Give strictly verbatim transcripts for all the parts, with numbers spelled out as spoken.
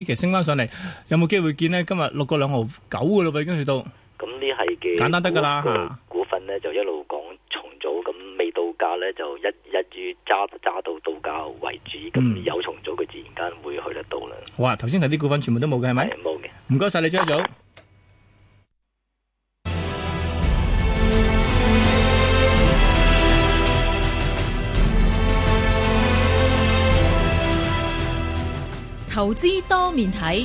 期升翻上嚟，有冇機會見呢？今日六個兩毫九嘅咯，已經去到。 咁呢係嘅簡單得噶啦嚇。 股份呢就一路講重組，咁未到價呢就一一於揸揸到到價為主，咁、嗯、有重組佢自然間會去得到啦。 好啊，頭先睇啲股份全部都冇嘅係咪？ 冇嘅。 唔該晒你張總。 投資多面睇。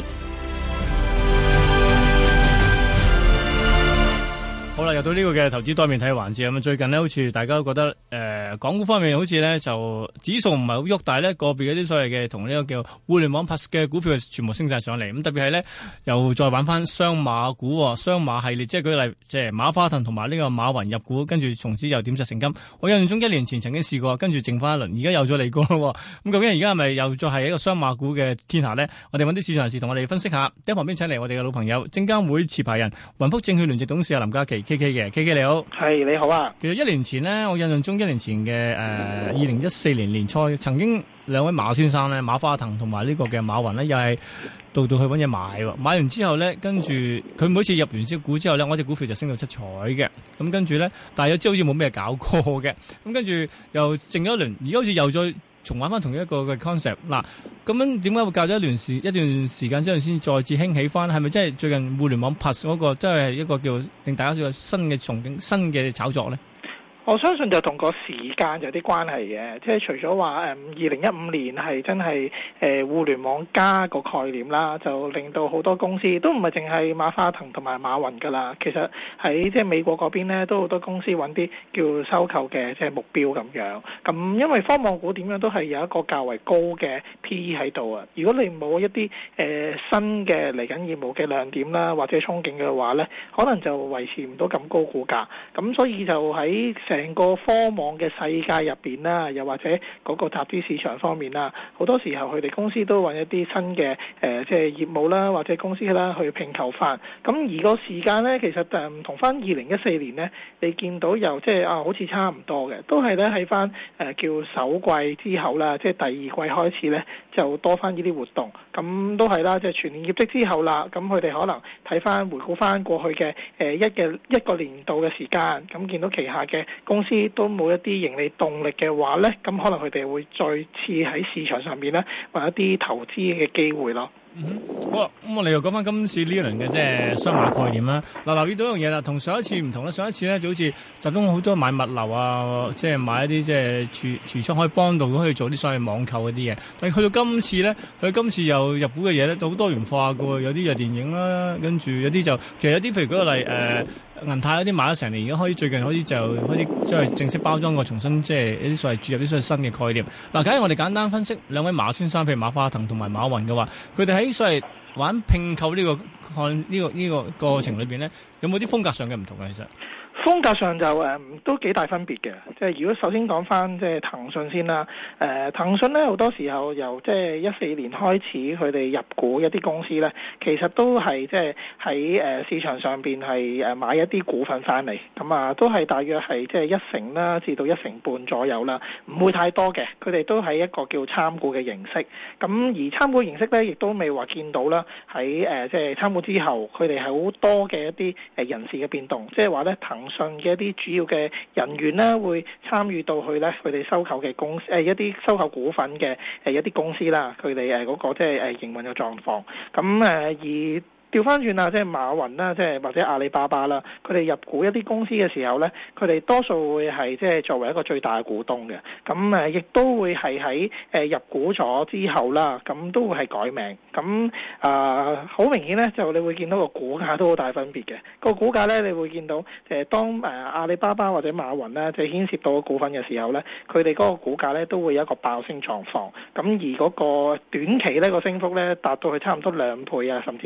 好啦，又到呢個嘅投資多面睇環節咁啊！最近呢，好似大家都覺得誒、呃，港股方面好似呢就指數唔係好喐，但係呢個別嗰啲所謂嘅同呢個叫互聯網 plus 嘅股票全部升晒上嚟。咁特別係呢，又再玩翻雙馬股、雙馬系列，即係舉例，即係馬化騰同埋呢個馬雲入股，跟住從此又點石成金。我印象中一年前曾經試過，跟住剩翻一輪，而家又再嚟過咯。咁究竟而家係咪又再係一個雙馬股嘅天下呢？我哋揾啲市場人士同我哋分析下。喺旁邊請嚟我哋嘅老朋友，證監會持牌人、雲福證券聯席董事林嘉麒。K K 嘅 K K 你好， 係你好啊。 其實一年前呢，我印象中一年前嘅誒二零一四年年初，曾經兩位馬先生咧，馬化騰同埋呢個嘅馬雲呢，又係到到去揾嘢買喎。買完之後呢，跟住佢每次入完隻股之後呢，我隻股票就升到七彩嘅。咁跟住呢，但係又知好似冇咩搞過嘅。咁跟住又靜咗一輪，而家好似又再重玩翻同一個嘅 concept。嗱，咁樣點解會隔咗一段時一段時間之後先再次興起翻？係咪真係最近互聯網 plus 嗰個真係一個叫令大家有新嘅憧憬、新嘅炒作咧？ 我相信就同個時間有啲關係嘅，即係除咗話誒二零一五年係真係誒、呃、互聯網加個概念啦，就令到好多公司都唔係淨係馬化騰同埋馬雲噶啦，其實喺即係美國嗰邊咧都好多公司揾啲叫收購嘅即係目標咁樣。咁因為科網股點樣都係有一個較為高嘅 P E 喺度啊，如果你冇一啲誒、呃、新嘅嚟緊業務嘅亮點啦或者憧憬嘅話咧，可能就維持唔到咁高股價。咁所以就喺成個科網嘅世界入邊啦，又或者嗰個集資市場方面啦，好多時候佢哋公司都揾一啲新嘅誒、呃，即係業務啦，或者公司啦去併購翻。咁而個時間呢，其實誒唔同翻二零一四年呢，你見到又即係啊，好似差唔多嘅，都係咧喺翻誒叫首季之後啦，即係第二季開始呢，就多翻呢啲活動。咁都係啦，即係全年業績之後啦，咁佢哋可能睇翻回顧翻過去嘅誒一嘅一個年度嘅時間，咁見到旗下嘅公司都冇一啲盈利動力嘅話呢，咁可能佢哋會再次喺市場上面呢，揾一啲投資嘅機會咯。 嗯，好啊，咁我哋又講翻今次呢一輪嘅即係雙馬概念啦。嗱，留意到一樣嘢啦，同上一次唔同啦。上一次咧就好似集中好多買物流啊，即係買一啲即係櫥櫥窗可以幫到可以做啲所謂網購嗰啲嘢。但係去到今次咧，佢今次又入股嘅嘢咧都好多元化㗎喎，有啲就電影啦，跟住有啲就其實有啲譬如舉個例誒。呃銀泰嗰啲買咗成年，而家開始最近開始就開始即係正式包裝過，重新即係一啲所謂注入啲所謂新嘅概念。嗱，假如我哋簡單分析兩位馬先生，譬如馬化騰同埋馬雲嘅話，佢哋喺所謂玩併購呢個看呢個呢個過程裏邊咧，有冇啲風格上嘅唔同啊？其實？ 風格上就誒、嗯、都幾大分別嘅，即係如果首先講翻即係騰訊先啦，誒、呃、騰訊咧好多時候由即係一四年開始佢哋入股一啲公司咧，其實都係即係喺誒市場上邊係誒買一啲股份翻嚟，咁啊都係大約係即係一成啦至到一成半左右啦，唔會太多嘅，佢哋都係一個叫參股嘅形式，咁而參股形式咧亦都未話見到啦喺誒即係參股之後，佢哋係好多嘅一啲誒人事嘅變動，即係話咧騰訊嘅一啲主要嘅人員咧，會參與到去咧佢哋收購嘅公司誒一啲收購股份嘅誒一啲公司啦，佢哋誒嗰個即係誒營運嘅狀況，咁誒而。調翻轉啦，即係馬雲啦，即係或者阿里巴巴啦，佢哋入股一啲公司嘅時候咧，佢哋多數會係即係作為一個最大嘅股東嘅，咁誒亦都會係喺誒入股咗之後啦，咁都會係改名，咁啊好明顯咧，就你會見到個股價都好大分別嘅，個股價咧你會見到誒當誒阿里巴巴或者馬雲咧即係牽涉到個股份嘅時候咧，佢哋嗰個股價咧都會有一個爆升狀況，咁而嗰個短期呢個升幅咧達到去差唔多兩倍啊，甚至乎三倍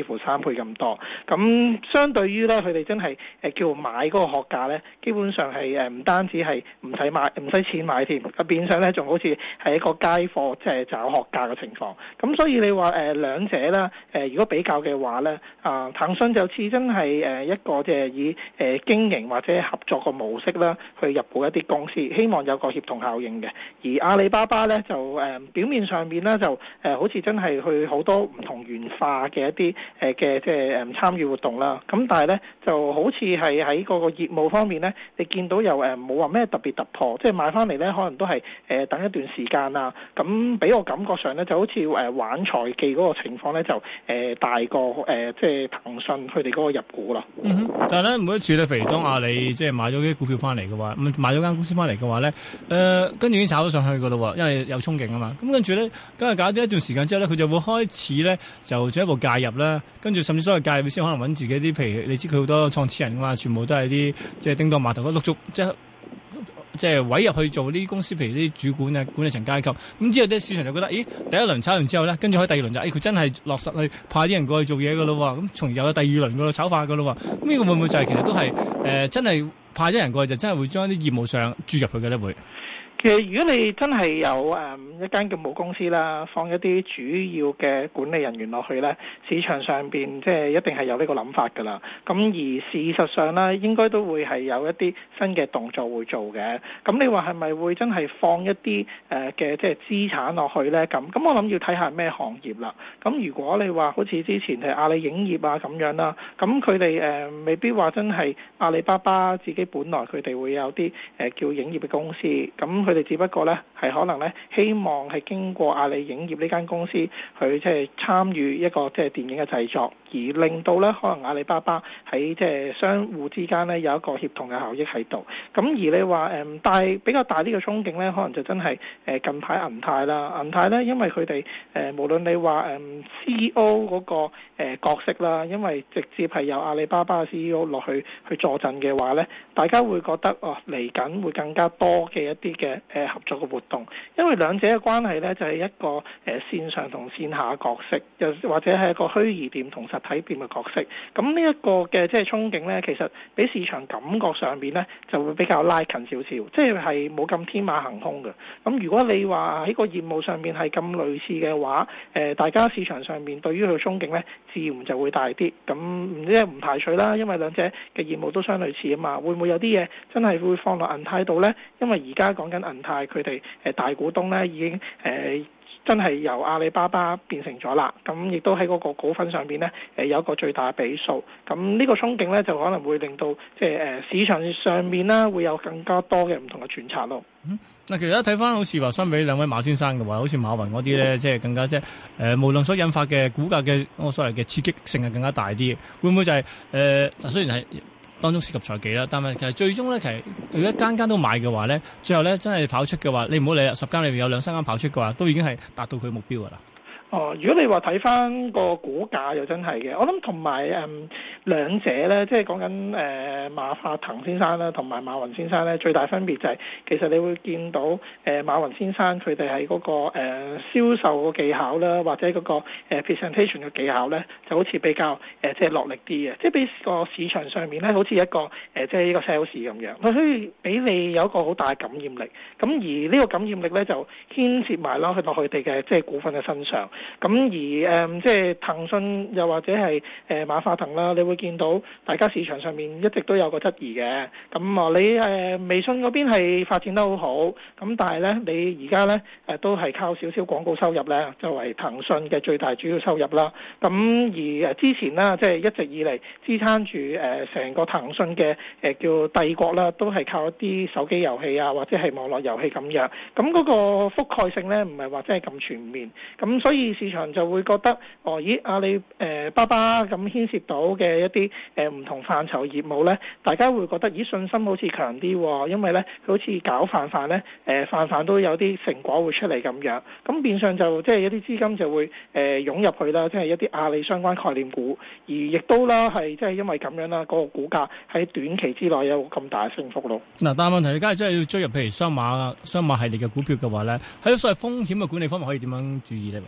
倍咁多。咁相對於咧，佢哋真係誒叫買嗰個學價咧，基本上係誒唔單止係唔使買唔使錢買添，變相咧仲好似係一個街貨，即係找學價嘅情況。咁所以你話誒兩者啦，誒如果比較嘅話咧，啊騰訊就似真係誒一個即係以誒經營或者合作個模式啦，去入股一啲公司，希望有個協同效應嘅。而阿里巴巴咧就誒表面上面咧就誒好似真係去好多唔同元化嘅一啲誒嘅即係誒參與活動啦。咁但係咧就好似係喺嗰個業務方面咧，你見到又誒冇話咩特別突破，即係買翻嚟咧可能都係誒等一段時間啊。咁俾我感覺上咧就好似誒玩財技嗰個情況咧就誒大過誒即係騰訊佢哋嗰個入股啦。 嗯，但係咧每一次咧，譬如當阿里即係買咗啲股票翻嚟嘅話，咁買咗間公司翻嚟嘅話咧，誒、呃、跟住已經炒咗上去噶啦，因為有憧憬啊嘛。咁跟住咧，今日搞咗一段時間之後咧，佢就會開始咧就進一步介入啦。跟住甚至所謂介入先可能揾自己啲，譬如你知佢好多創始人噶嘛，全部都係啲即係叮當碼頭嗰陸續即係。即係委入去做呢啲公司，譬如啲主管啊、管理層階級，咁之後啲市場就覺得，咦，第一輪炒完之後咧，跟住喺第二輪就，誒、哎，佢真係落實去派啲人過去做嘢噶咯，咁從而又有第二輪噶咯炒法噶咯，咁呢個會唔會就係、是、其實都係誒、呃、真係派啲人過去就真係會將啲業務上注入去嘅咧會？ 其實如果你真係有誒、嗯、一間嘅母公司啦，放一啲主要嘅管理人員落去咧，市場上邊即係一定係有呢個諗法㗎啦。咁而事實上咧，應該都會係有一啲新嘅動作會做嘅。咁你話係咪會真係放一啲誒嘅即係資產落去咧？咁咁我諗要睇下咩行業啦。咁如果你話好似之前係阿里影業啊咁樣啦，咁佢哋誒未必話真係阿里巴巴自己本來佢哋會有啲誒、呃、叫影業嘅公司咁。佢哋只不過咧係可能咧希望係經過阿里影業呢間公司去即係參與一個即係電影嘅製作，而令到咧可能阿里巴巴喺即係相互之間咧有一個協同嘅效益喺度。咁而你話誒大比較大呢個憧憬咧，可能就真係誒近排銀泰啦，銀泰咧因為佢哋誒無論你話誒 C E O 嗰個誒角色啦，因為直接係由阿里巴巴嘅 C E O 落去去坐鎮嘅話咧，大家會覺得哦嚟緊會更加多嘅一啲嘅誒合作嘅活動，因為兩者嘅關係咧就係一個誒線上同線下角色，又或者係一個虛擬店同實體店嘅角色。咁呢一個嘅即係憧憬咧，其實俾市場感覺上邊咧就會比較拉近少少，即係係冇咁天馬行空嘅。咁如果你話喺個業務上面係咁類似嘅話，誒大家市場上面對於佢嘅憧憬咧，自然就會大啲。咁唔知唔排除啦，因為兩者嘅業務都相類似啊嘛，會唔會有啲嘢真係會放落銀泰度咧？因為而家講緊銀泰佢哋誒大股東咧已經誒、呃、真係由阿里巴巴變成咗啦，咁亦都喺嗰個股份上邊咧誒有一個最大嘅比數，咁呢個憧憬咧就可能會令到即係誒市場上面啦會有更加多嘅唔同嘅揣測咯。 嗯，嗱，其實睇翻好似話相比兩位馬先生嘅話，好似馬雲嗰啲咧，即係更加即係誒，無論所引發嘅股價嘅我所謂嘅刺激性係更加大啲，會唔會就係、是、誒？嗱、呃，雖然係。當中涉及財技啦，但係其實最終咧，其實如果間間都買嘅話咧，最後咧真係跑出嘅話，你唔好理啦，十間裏面有兩三間跑出嘅話，都已經係達到佢目標噶啦。哦，如果你話睇翻個股價又真係嘅，我諗同埋誒兩者咧，即係講緊誒馬化騰先生啦，同埋馬雲先生咧，最大分別就係、是、其實你會見到誒、呃、馬雲先生佢哋喺嗰個誒、呃、銷售嘅技巧啦，或者嗰、那個、呃、presentation 嘅技巧咧，就好似比較誒、呃、即係落力啲嘅，即係俾個市場上面咧，好似一個誒、呃、即係一個 sales 咁樣，佢可以俾你有一個好大嘅感染力。咁而呢個感染力咧就牽涉埋啦去落佢哋嘅即係股份嘅身上。咁而誒、呃、即係騰訊又或者係誒、呃、馬化騰啦，你會見到大家市場上面一直都有個質疑嘅。咁啊，你誒、呃、微信嗰邊係發展得好好，咁但係咧你而家咧誒都係靠少少廣告收入咧作為騰訊嘅最大主要收入啦。咁而誒之前啦，即係一直以嚟支撐住誒成個騰訊嘅誒叫帝國啦，都係靠一啲手機遊戲啊或者係網絡遊戲咁樣。咁嗰個覆蓋性咧唔係話真係咁全面。咁所以市場就會覺得，哦，咦，阿里誒巴巴咁牽涉到嘅一啲誒唔同範疇業務咧，大家會覺得，咦，信心好似強啲喎，因為咧佢好似搞泛泛咧，誒泛泛都有啲成果會出嚟咁樣，咁變相就即係一啲資金就會誒、呃、湧入去啦，即係一啲阿里相關概念股，而亦都啦係即係因為咁樣啦，嗰、那個股價喺短期之內有咁大嘅升幅咯。嗱，但係問題，而家係真係要追入譬如雙馬雙馬系列嘅股票嘅話咧，喺所謂風險嘅管理方面可以點樣注意咧？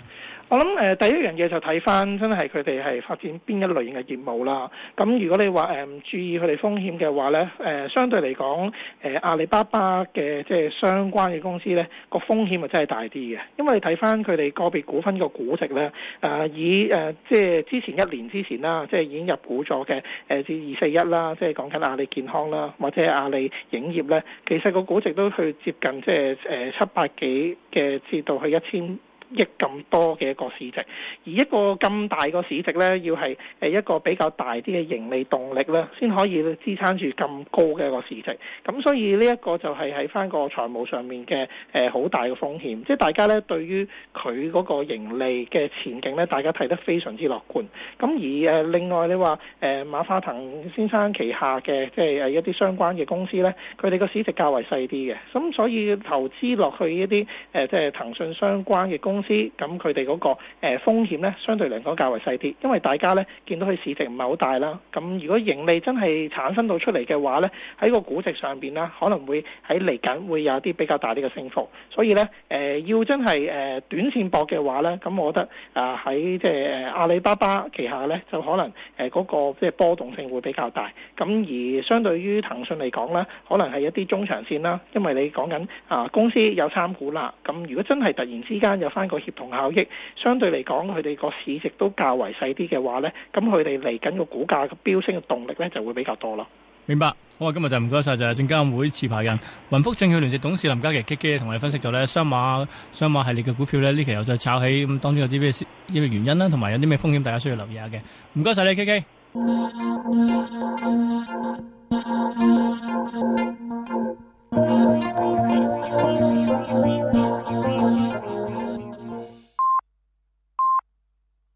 我諗誒、呃、第一樣嘢就睇翻真係佢哋係發展邊一類型嘅業務啦。咁如果你話誒唔注意佢哋風險嘅話咧，誒、呃、相對嚟講誒阿里巴巴嘅即係相關嘅公司咧，個風險啊真係大啲嘅。因為你睇翻佢哋個別股份個估值咧，誒、呃、以誒、呃、即係之前一年之前啦，即係已經入股咗嘅誒至二四一啦，即係講緊阿里健康啦，或者阿里影業咧，其實個估值都去接近即係誒七百幾嘅至到去一千億咁多嘅一個市值，而一個咁大個市值呢，要係誒一個比較大啲嘅盈利動力呢，先可以支撐住咁高嘅一個市值。咁所以呢一個就係喺翻個財務上面嘅誒好大嘅風險，即係大家呢對於佢嗰個盈利嘅前景呢，大家睇得非常之樂觀。咁而誒另外你話誒馬化騰先生旗下嘅即係誒一啲相關嘅公司呢，佢哋個市值較為細啲嘅，咁所以投資落去一啲誒即係騰訊相關嘅公司。咁佢哋嗰個誒風險咧，相對嚟講較為細啲，因為大家咧見到佢市值唔係好大啦。咁如果盈利真係產生到出嚟嘅話咧，喺個估值上邊咧，可能會喺嚟緊會有啲比較大啲嘅升幅。所以咧誒、呃，要真係誒短線搏嘅話咧，咁我覺得啊喺即係阿里巴巴旗下咧，就可能誒嗰個即係波動性會比較大。咁而相對於騰訊嚟講咧，可能係一啲中長線啦，因為你講緊啊公司有參股啦。咁如果真係突然之間有翻個協同效益，相對嚟講佢哋個市值都較為細啲嘅話呢，咁佢哋嚟緊個股價嘅飆升嘅動力呢就會比較多咯。 明白，好啊！今日就唔該晒，就係證監會持牌人雲福證券聯席董事林嘉麒 K K 同我哋分析咗呢雙馬雙馬系列嘅股票呢，呢期又再炒起，咁當中有啲咩呢個原因啦，同埋有啲咩風險，大家需要留意下嘅。唔該晒你 K K。